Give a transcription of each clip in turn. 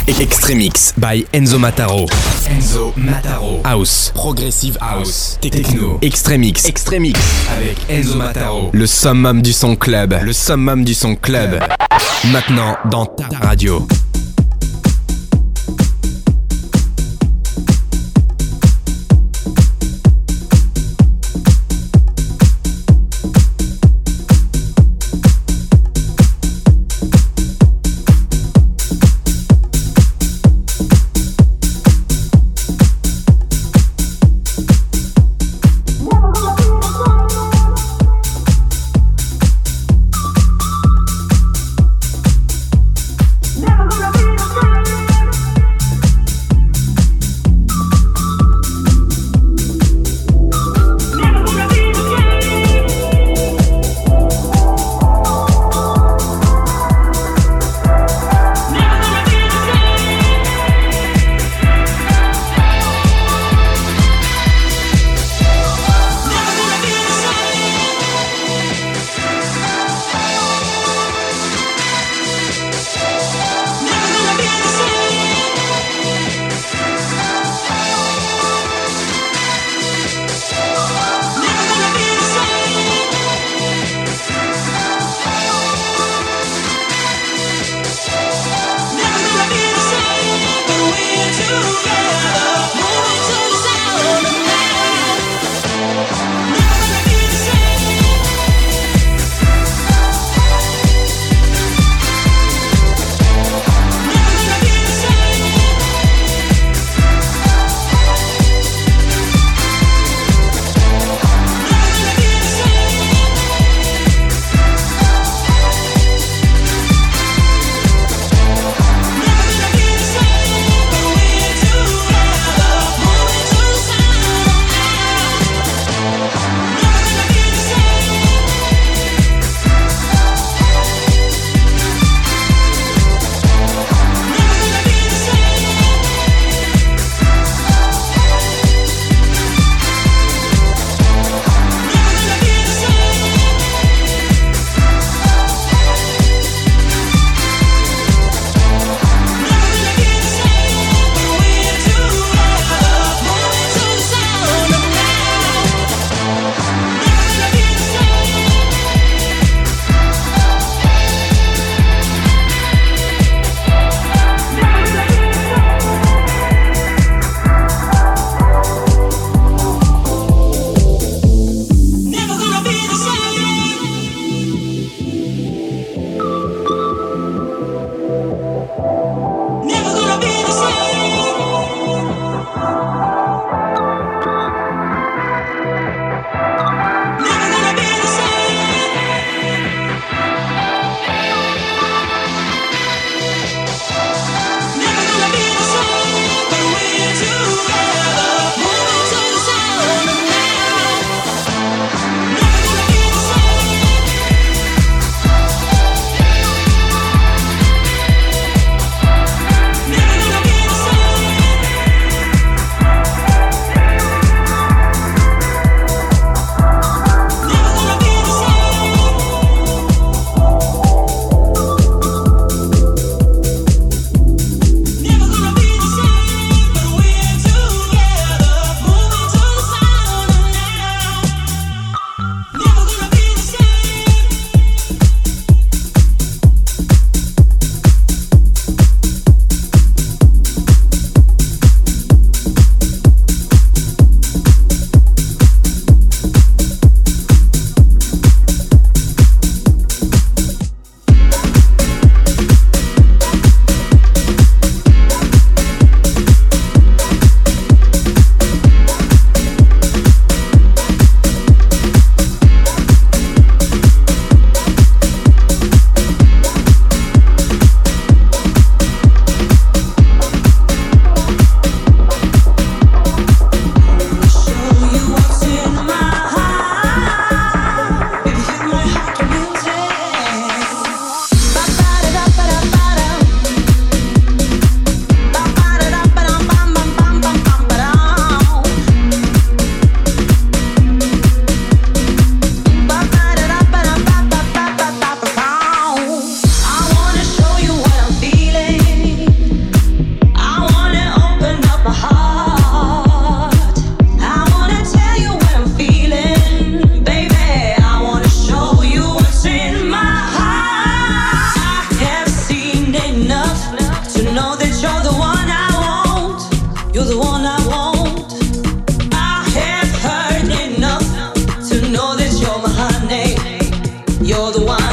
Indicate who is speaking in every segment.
Speaker 1: Extremix by Enzo Mataro. Enzo Mataro. House, Progressive House, Techno. Extremix avec Enzo Mataro. Le summum du son club. Maintenant dans ta radio.
Speaker 2: Never gonna enough to know that you're the one I want. You're the one I want. I have heard enough to know that you're my honey. You're the one.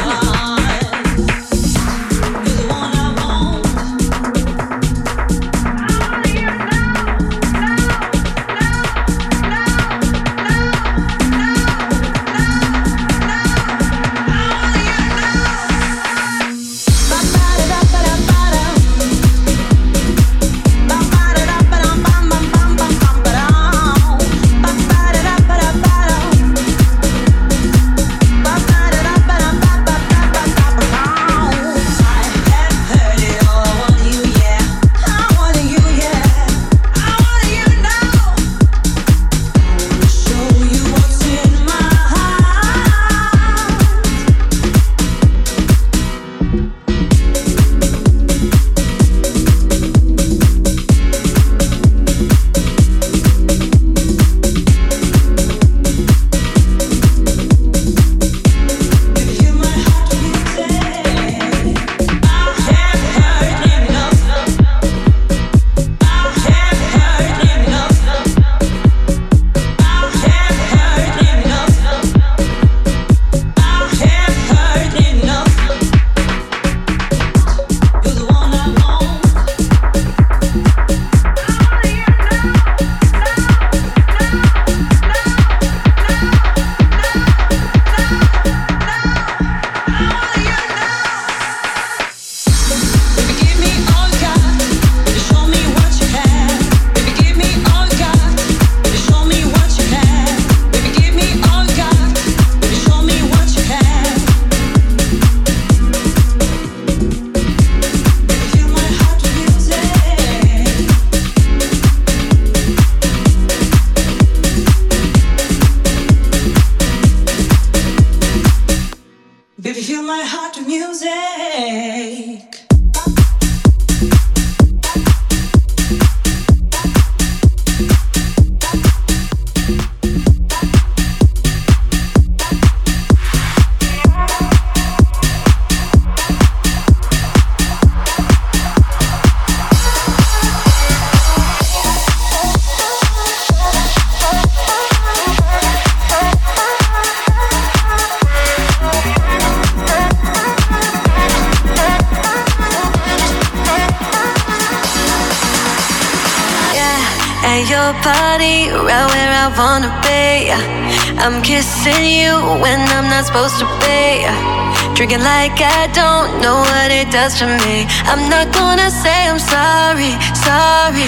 Speaker 3: Body right where I wanna be. I'm kissing you when I'm not supposed to be. Drinking like I don't know what it does to me. I'm not gonna say I'm sorry, sorry.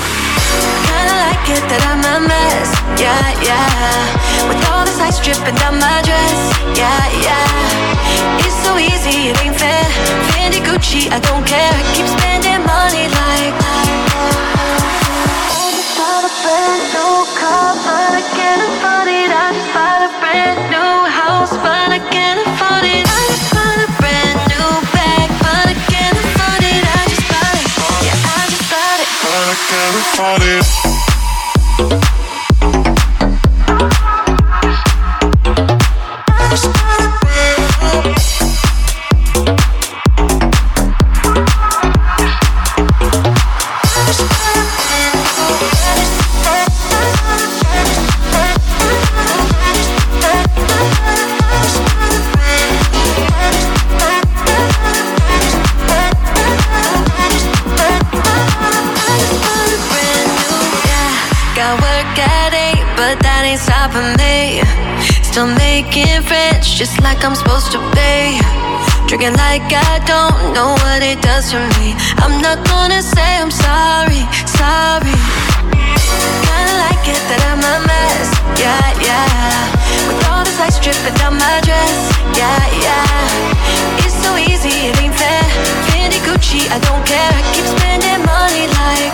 Speaker 3: Kinda like it that I'm a mess, yeah, yeah. With all this ice dripping down my dress, yeah, yeah. It's so easy, it ain't fair. Fendi, Gucci, I don't care. Keep spending money like brand new car, but I can't afford it. I just bought a brand new house, but I can't afford it. I just bought a brand new bag, but I can't afford it. I just bought it, yeah, I just bought it, but I can't afford it. Stopping me, still making friends just like I'm supposed to be. Drinking like I don't know what it does to me. I'm not gonna say I'm sorry, sorry. Kinda like it that I'm a mess, yeah, yeah. With all this ice dripping down my dress, yeah, yeah. It's so easy, it ain't fair. Fendi, Gucci, I don't care. I keep spending money like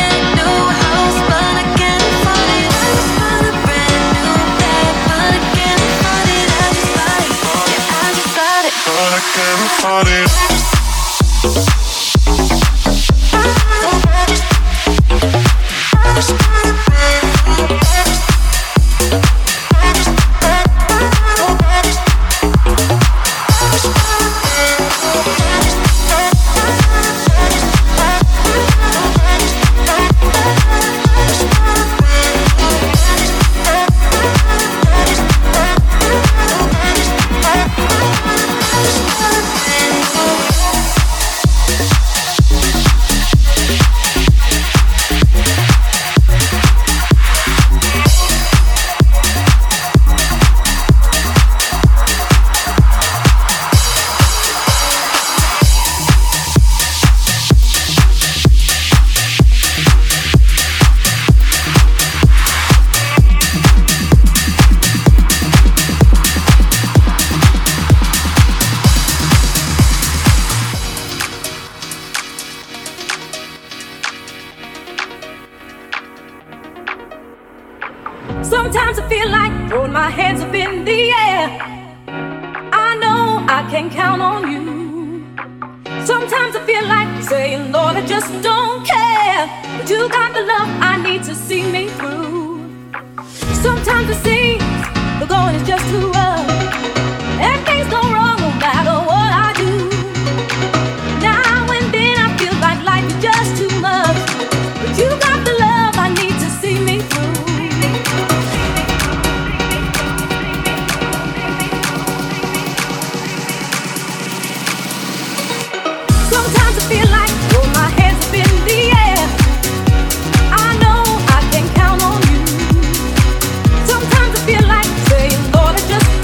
Speaker 3: again.
Speaker 4: Sometimes I feel like throwing my hands up in the air. I know I can count on you. Sometimes I feel like saying, Lord, I just don't care. But you got the love I need to see me through. Sometimes it seems the going is just too rough, and things go wrong no matter what I do. Now and then I feel like life is just too much, but you got the love I need to see me through. Sometimes I feel like throwing my hands up in the air. I know I can count on you. Sometimes I feel like saying, Lord, I just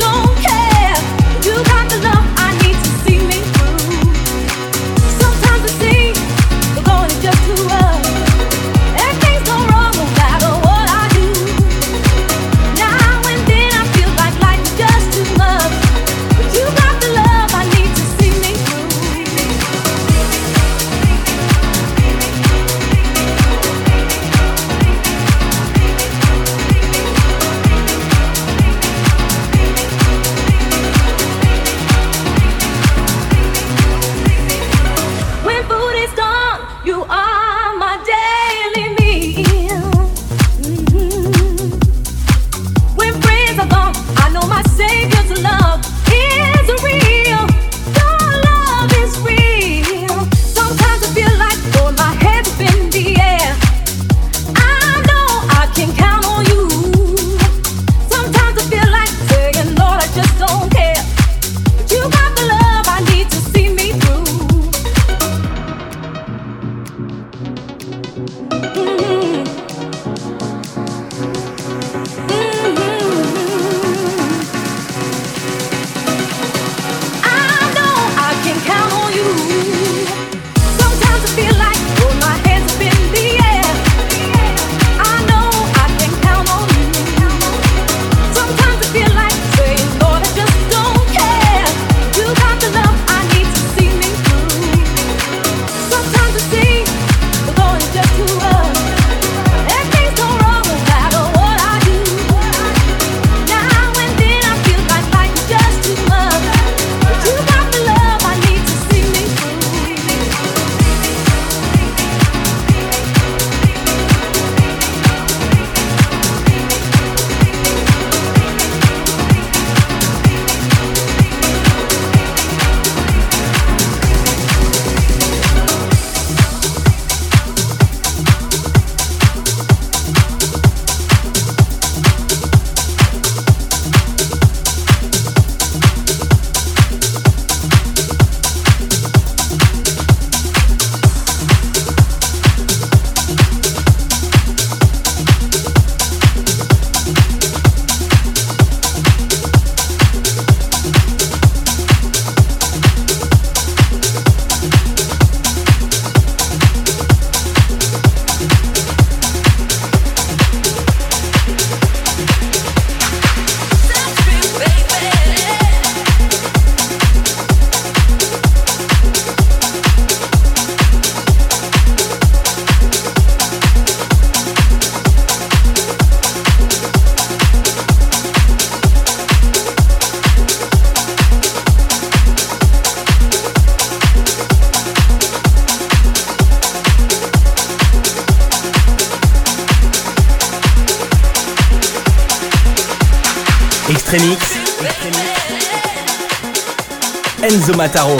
Speaker 5: Extremix. Enzo Mataro.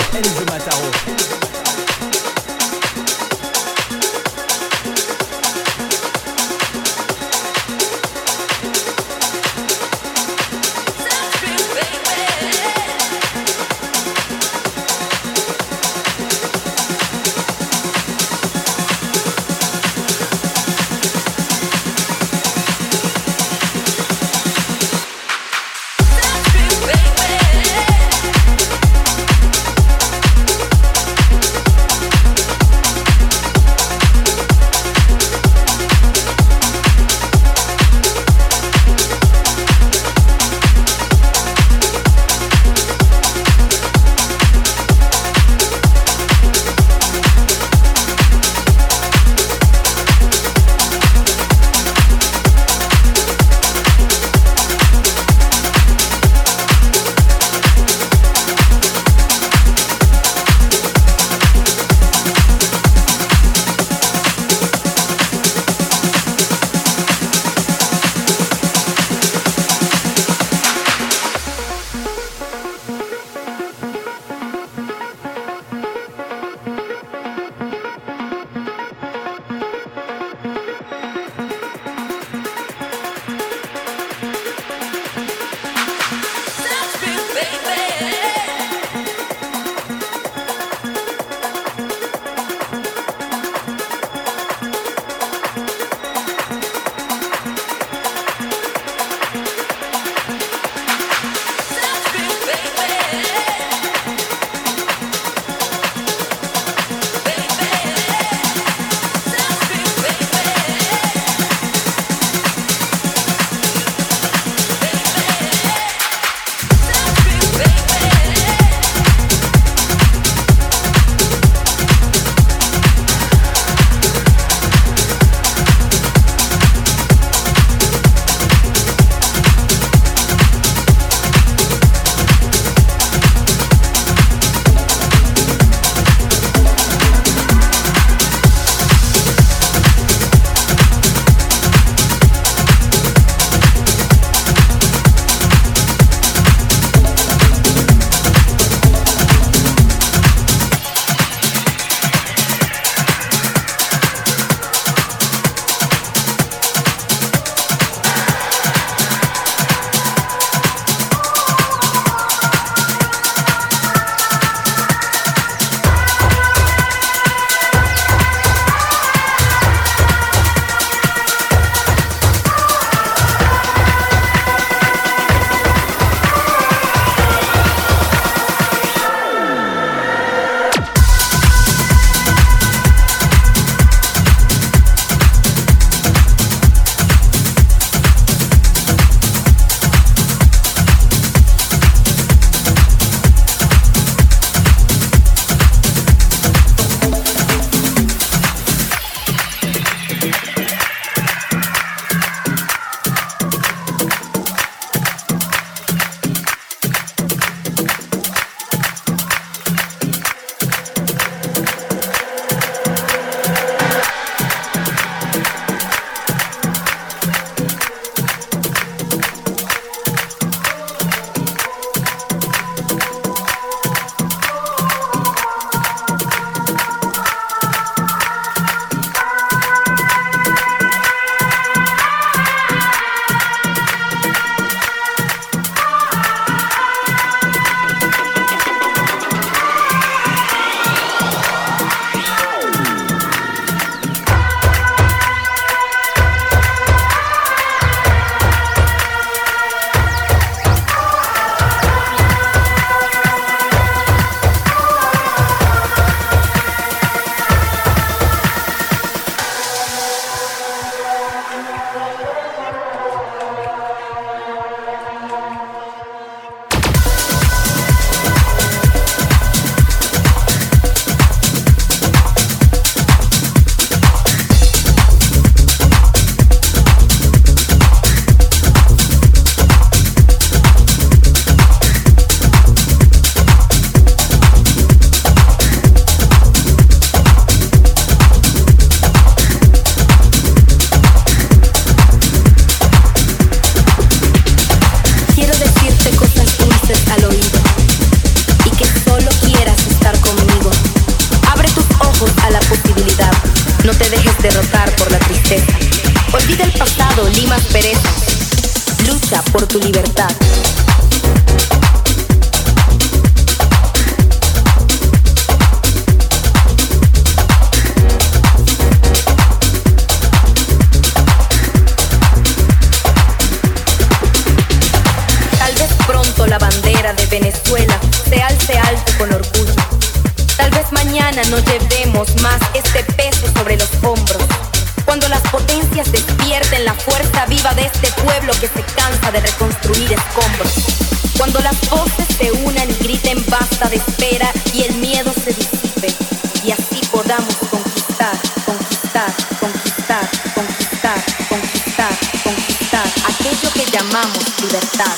Speaker 6: Cuando las voces se unan y griten basta de espera y el miedo se disipe y así podamos conquistar, conquistar, conquistar, conquistar, conquistar, conquistar aquello que llamamos libertad.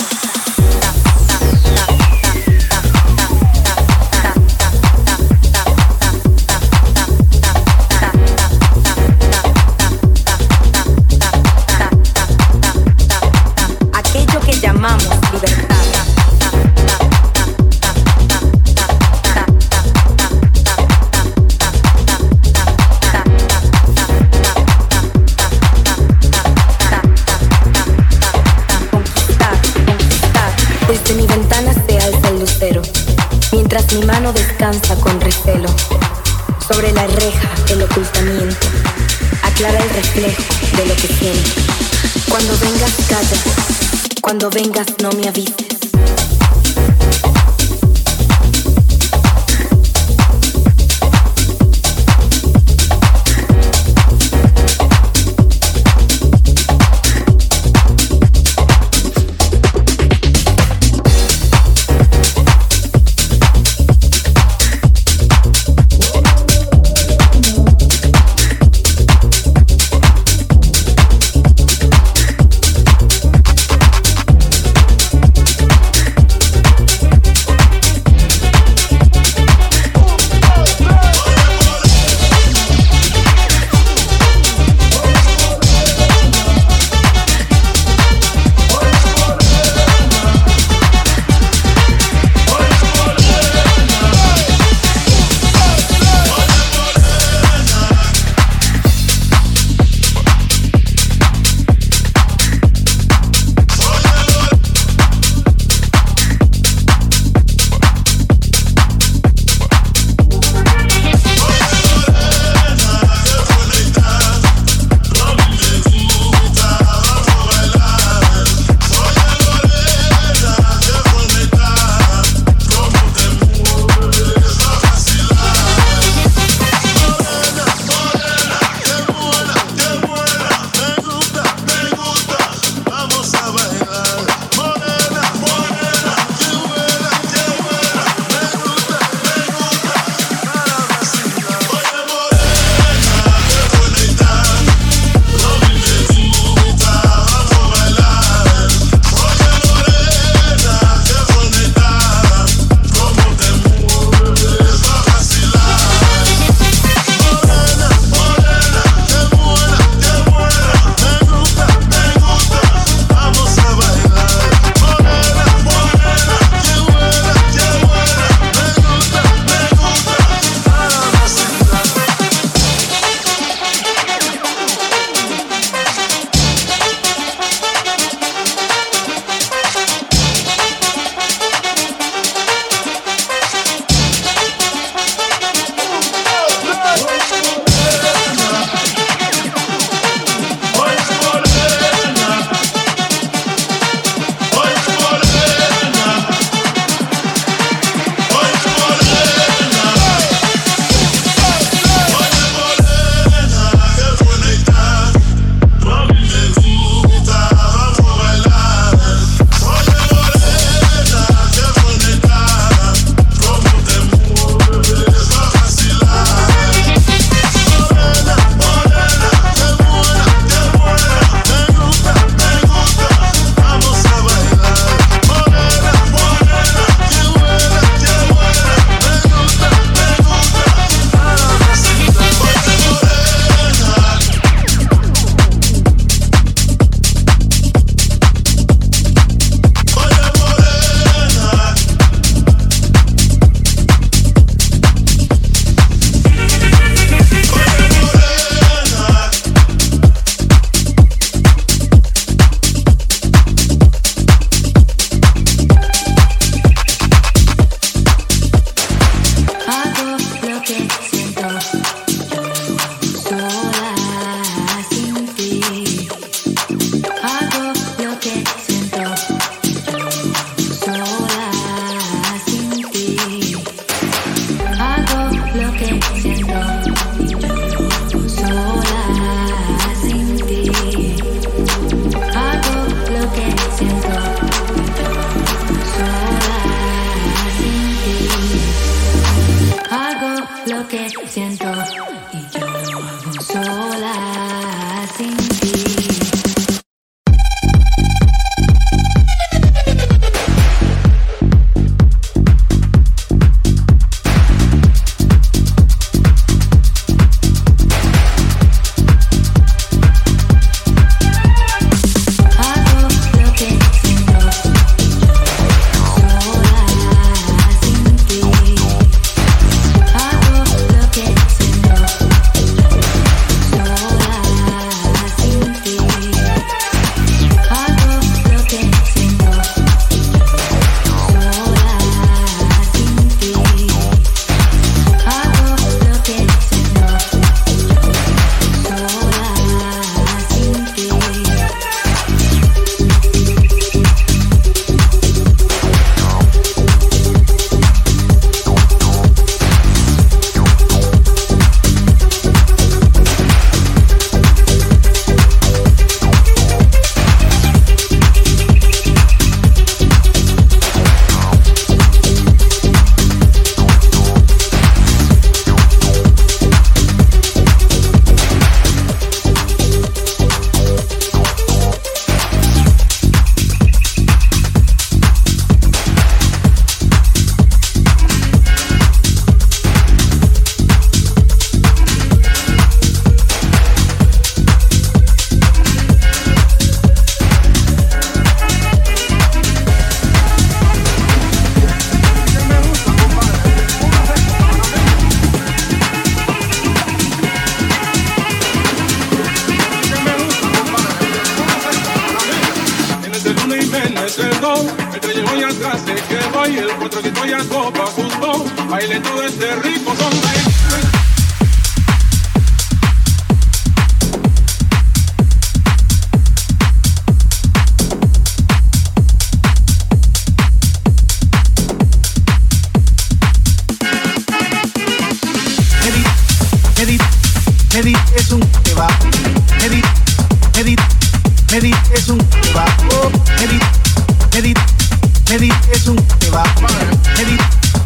Speaker 6: Aquello que llamamos libertad. Desde mi ventana se alza el lucero, mientras mi mano descansa con recelo. Sobre la reja el ocultamiento aclara el reflejo de lo que siento. Cuando vengas calla, cuando vengas no me avises.
Speaker 7: doy el cuatrocito y a copa asusto. Baile todo este rico son.
Speaker 8: Medi es un que va. Medi es un que va. Medi es un que va. Medi.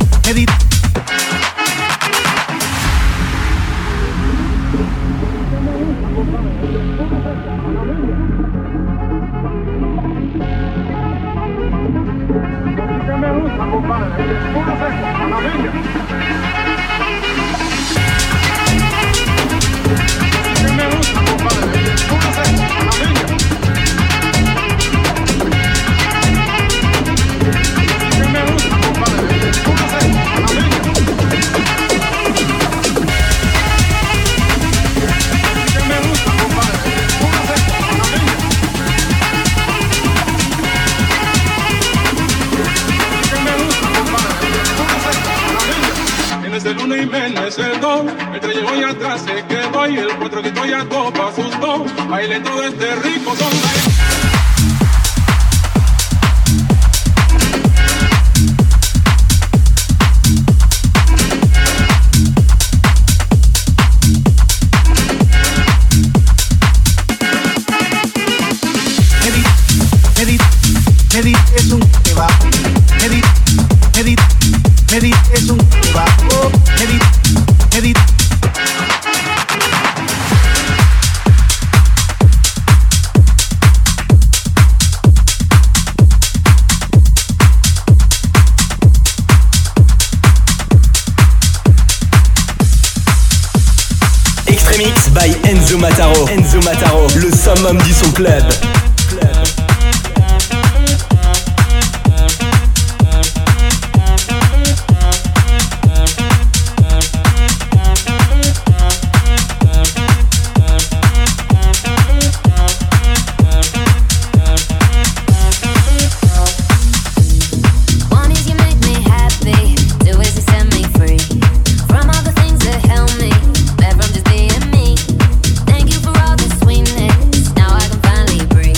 Speaker 7: El que llevo y atrás se quedó y el cuatro que estoy a copa asustó. Baile todo este rico son.
Speaker 8: Medi es un que va. Medi es un que va. Medi.
Speaker 5: Extremix by Enzo Mataro. Enzo Mataro, le summum du son club.
Speaker 3: Now I can finally breathe.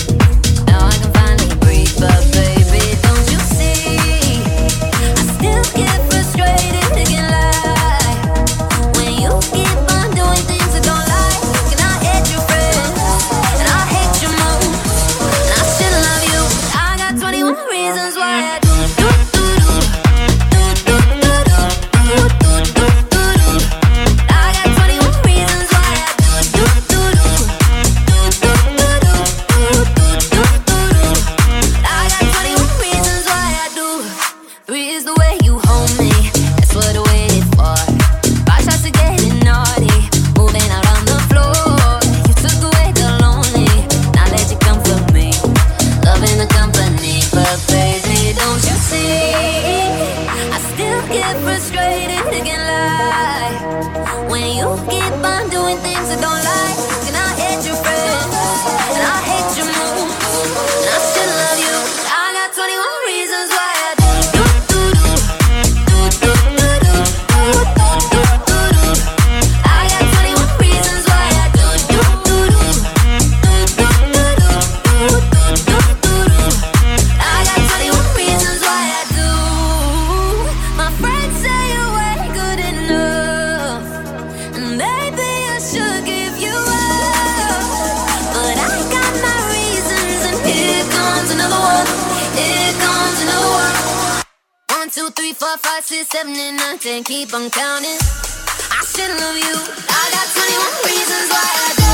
Speaker 9: 2, 3, 4, 5, 6, 7, and 9, 10. Keep on counting. I should love you. I got 21 reasons why I do.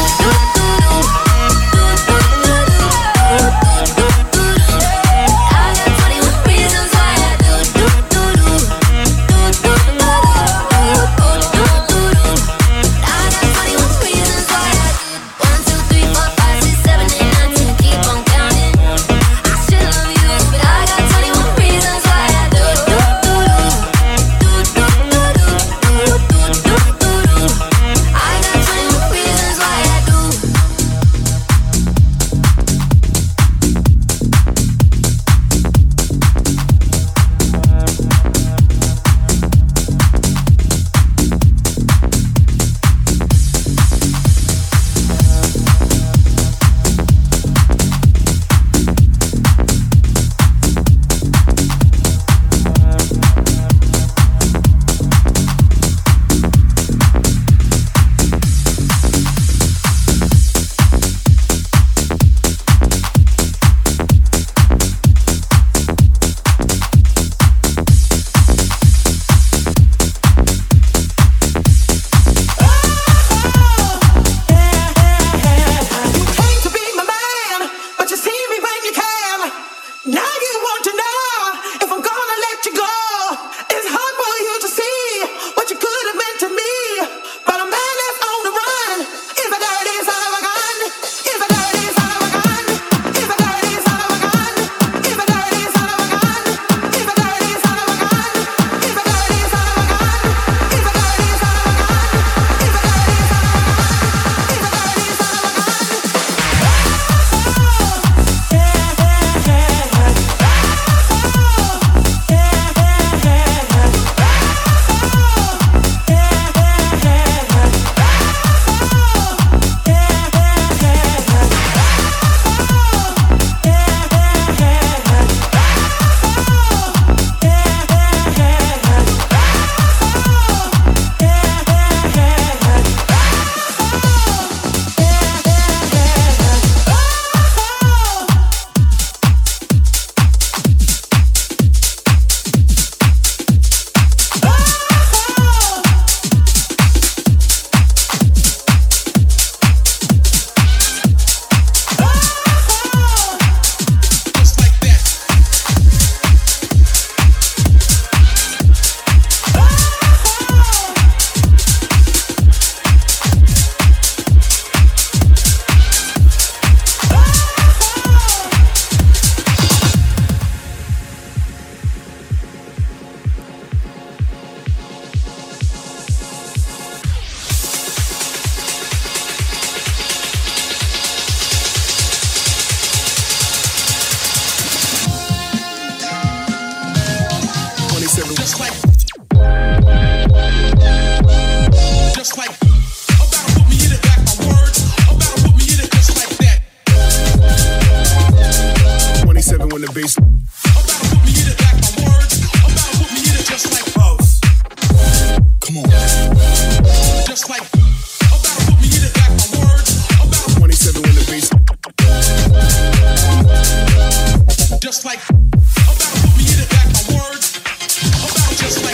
Speaker 9: I got 21 reasons why I do. I got 21 reasons why I do. 1, 2, 3, 4, 5, 6, 7, and 9, 10. Keep on counting. I should love you, but I got 21 reasons why I do. I got 21 reasons why I do.
Speaker 10: 27. Just like. Just like. About to put me in it, back my words. About to put me in it just like that. 27 when the bass. About to put me in it, back my words. About to put me in it just like boss. Come on. Just like. About to put me in it, back my words. About 27 when the bass. Just like. About to put me in it, back my words. About just like.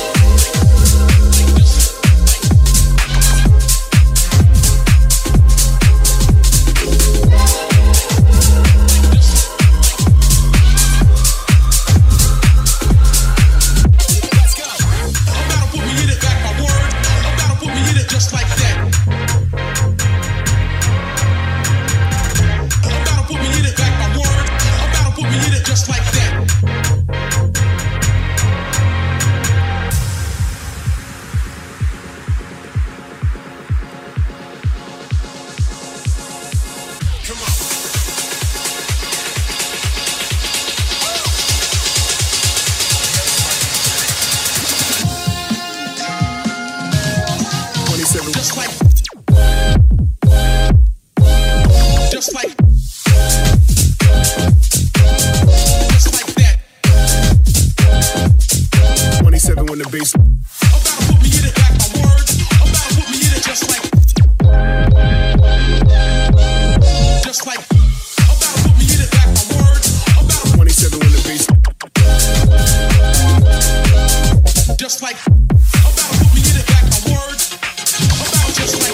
Speaker 10: Just like that. About to put me in it, back my word. About to put me in it just like that. Come on. Just like, just like, just like that. 27 when the bass. About to put me in it, back my words. About to put me in it just like, just like. About to put me in it, back my words. About 27 when the bass. Just like. About to put me in it, back my words. Just like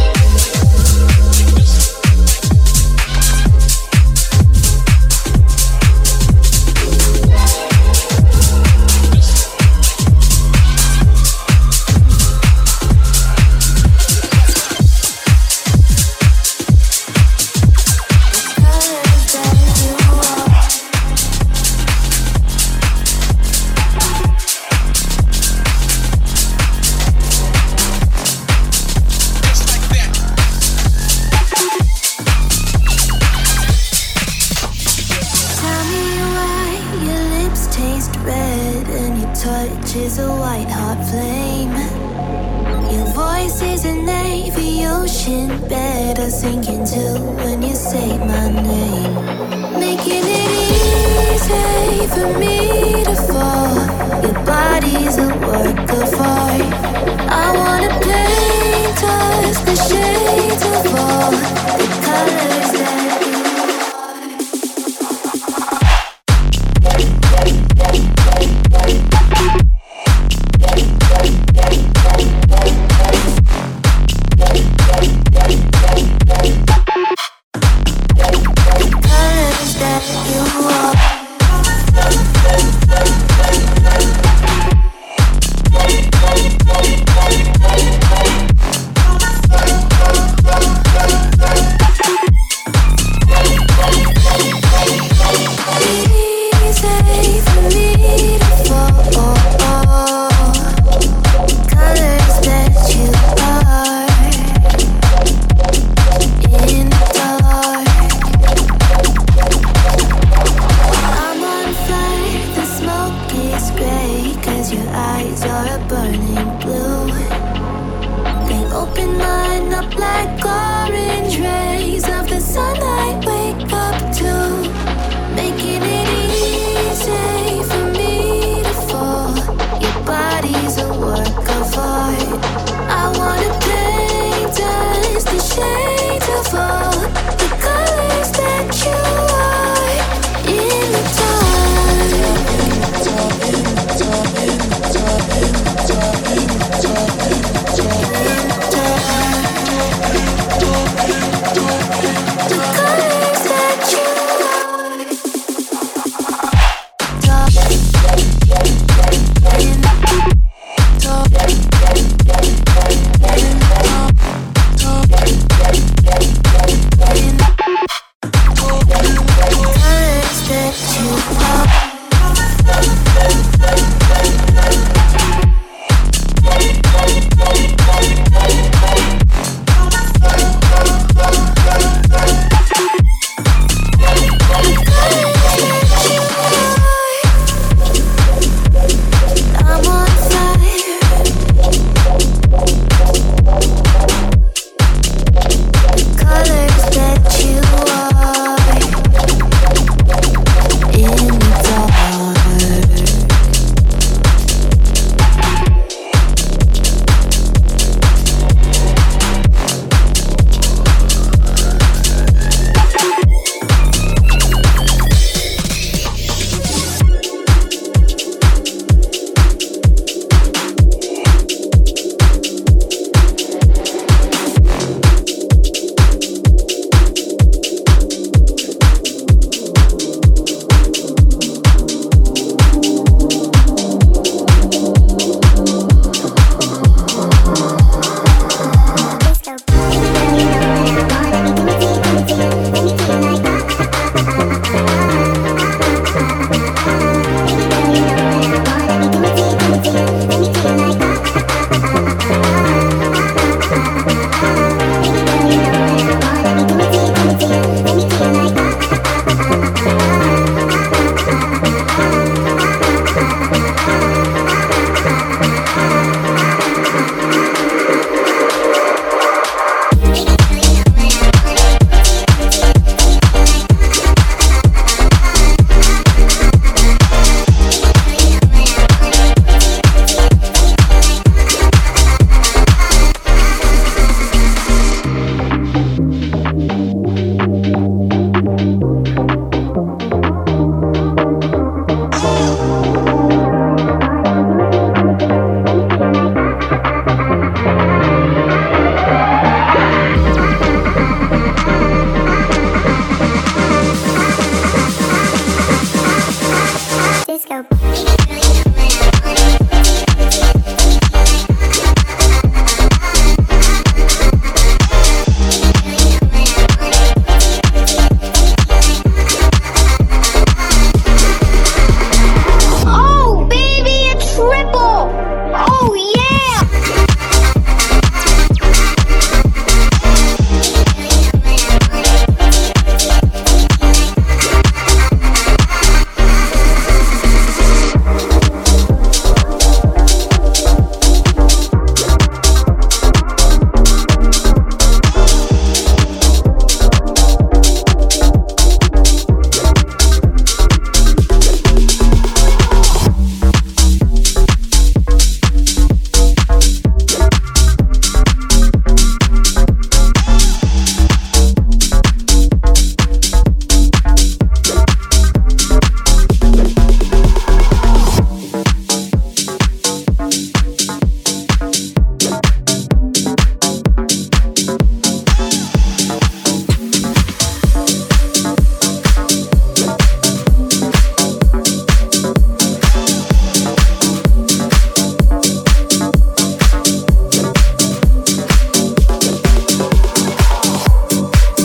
Speaker 3: is a white hot flame. Your voice is an aviation bed I sink into when you say my name. Making it easy for me to fall. Your body's a work of art. I wanna paint us the shades of all the colors that you are.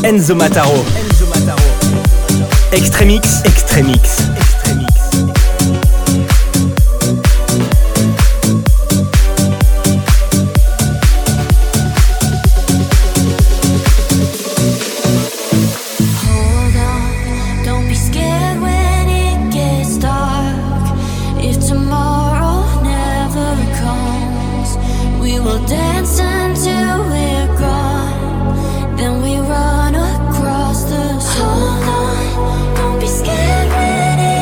Speaker 5: Enzo Mataro. Extremix.
Speaker 9: Hold on, don't be scared when it gets dark. If tomorrow never comes, we will dance until we're gone. Then we run across the sun. Hold on, don't be scared when it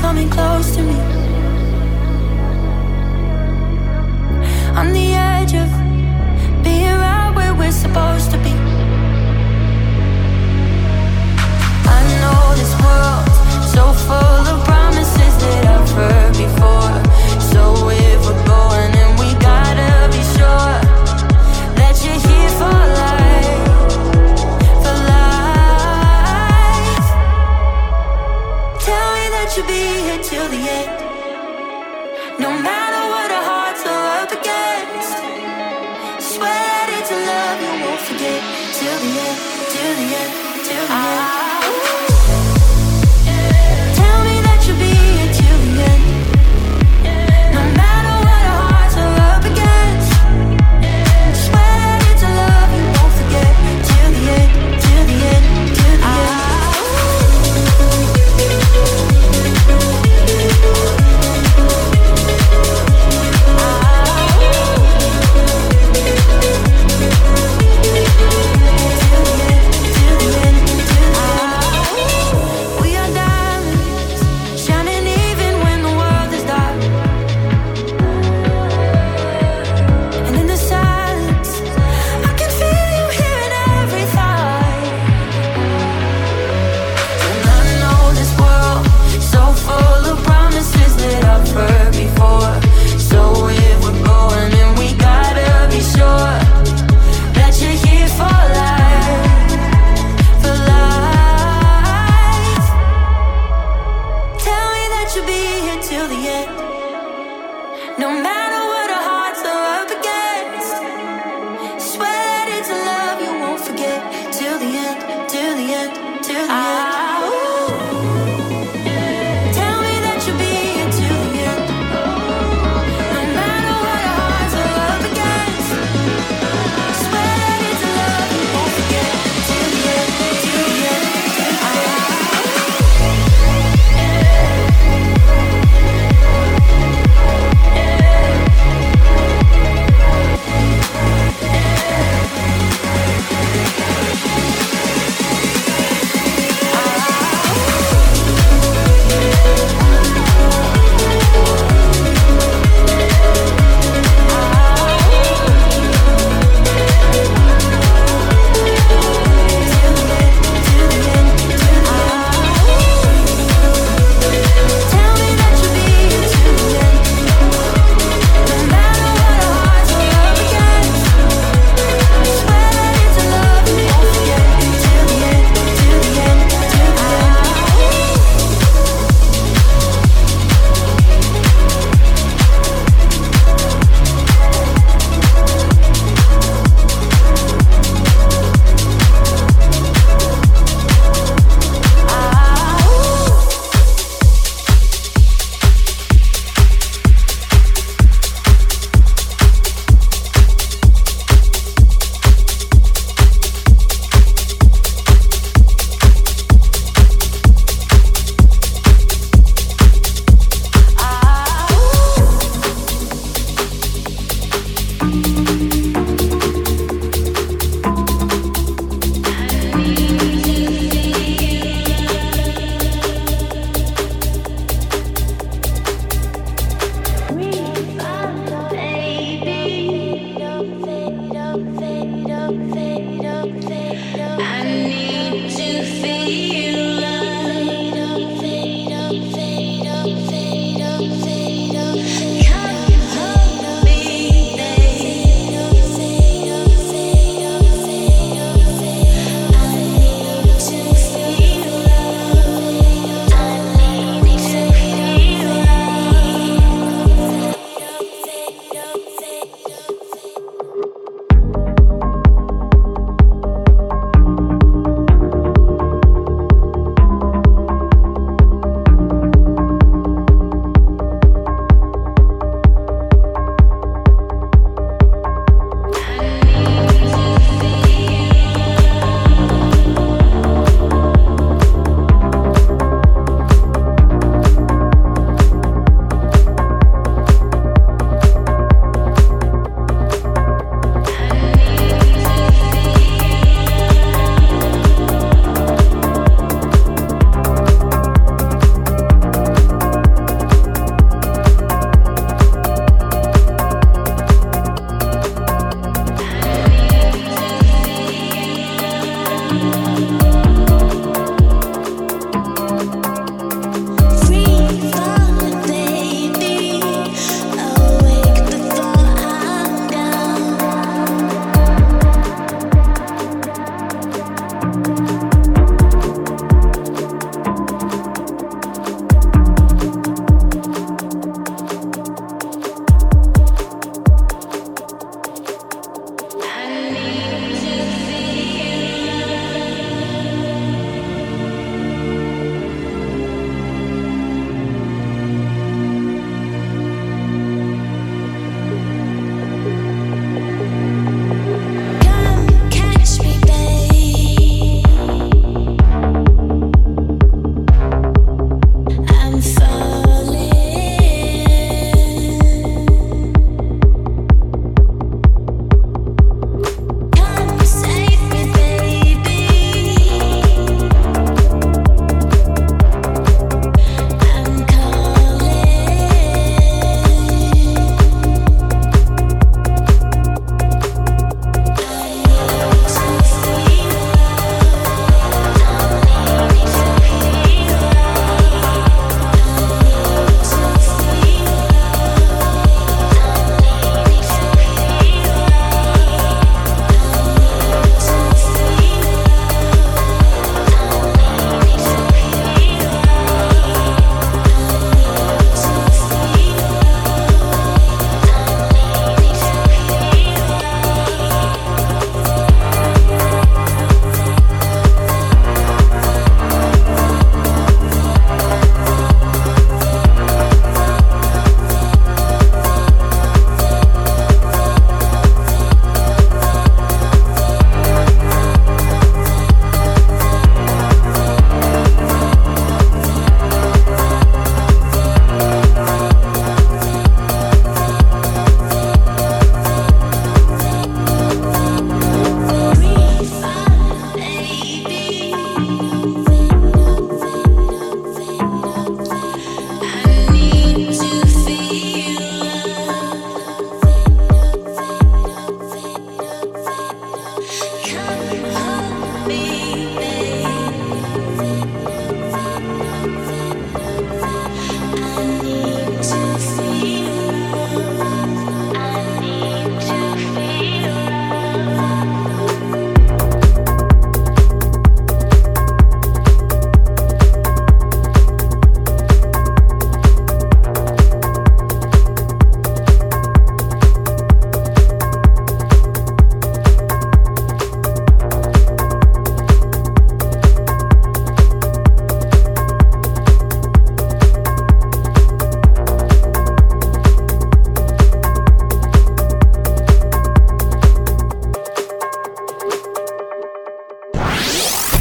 Speaker 3: coming close to me. On the edge of being right where we're supposed to be. I know this world's so full of promises that I've heard before. So if we're going, then we gotta be sure that you're here for life, for life. Tell me that you'll be here till the end, no matter what our hearts are up against. Swear that it's a love you won't forget till the end, till the end, till the end. Tell me that you'll be here till the end, no matter what our hearts are up against. Swear that it's a love you won't forget till the end, till the end, till the end. We are diamonds, shining even when the world is dark. And in the silence, I can feel you here in every thought. And I know this world so full of promises that I've heard before. So if we're going, then we gotta be sure that you're here for life, for life. Tell me that you'll be here till the end, no matter what our hearts are up against. Swear that it's a love you won't forget till the end, till the end, till the end. Tell me that you'll be here till the end, no matter what our hearts are up against. Swear that it's a love you won't forget till the end, till the end, till the end.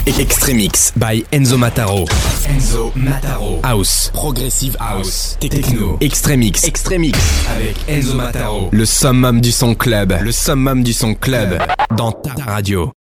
Speaker 1: Extremix by Enzo Mataro. Enzo Mataro. House, Progressive House, Techno, Extremix avec Enzo Mataro. Le summum du son club. Le summum du son club dans ta radio.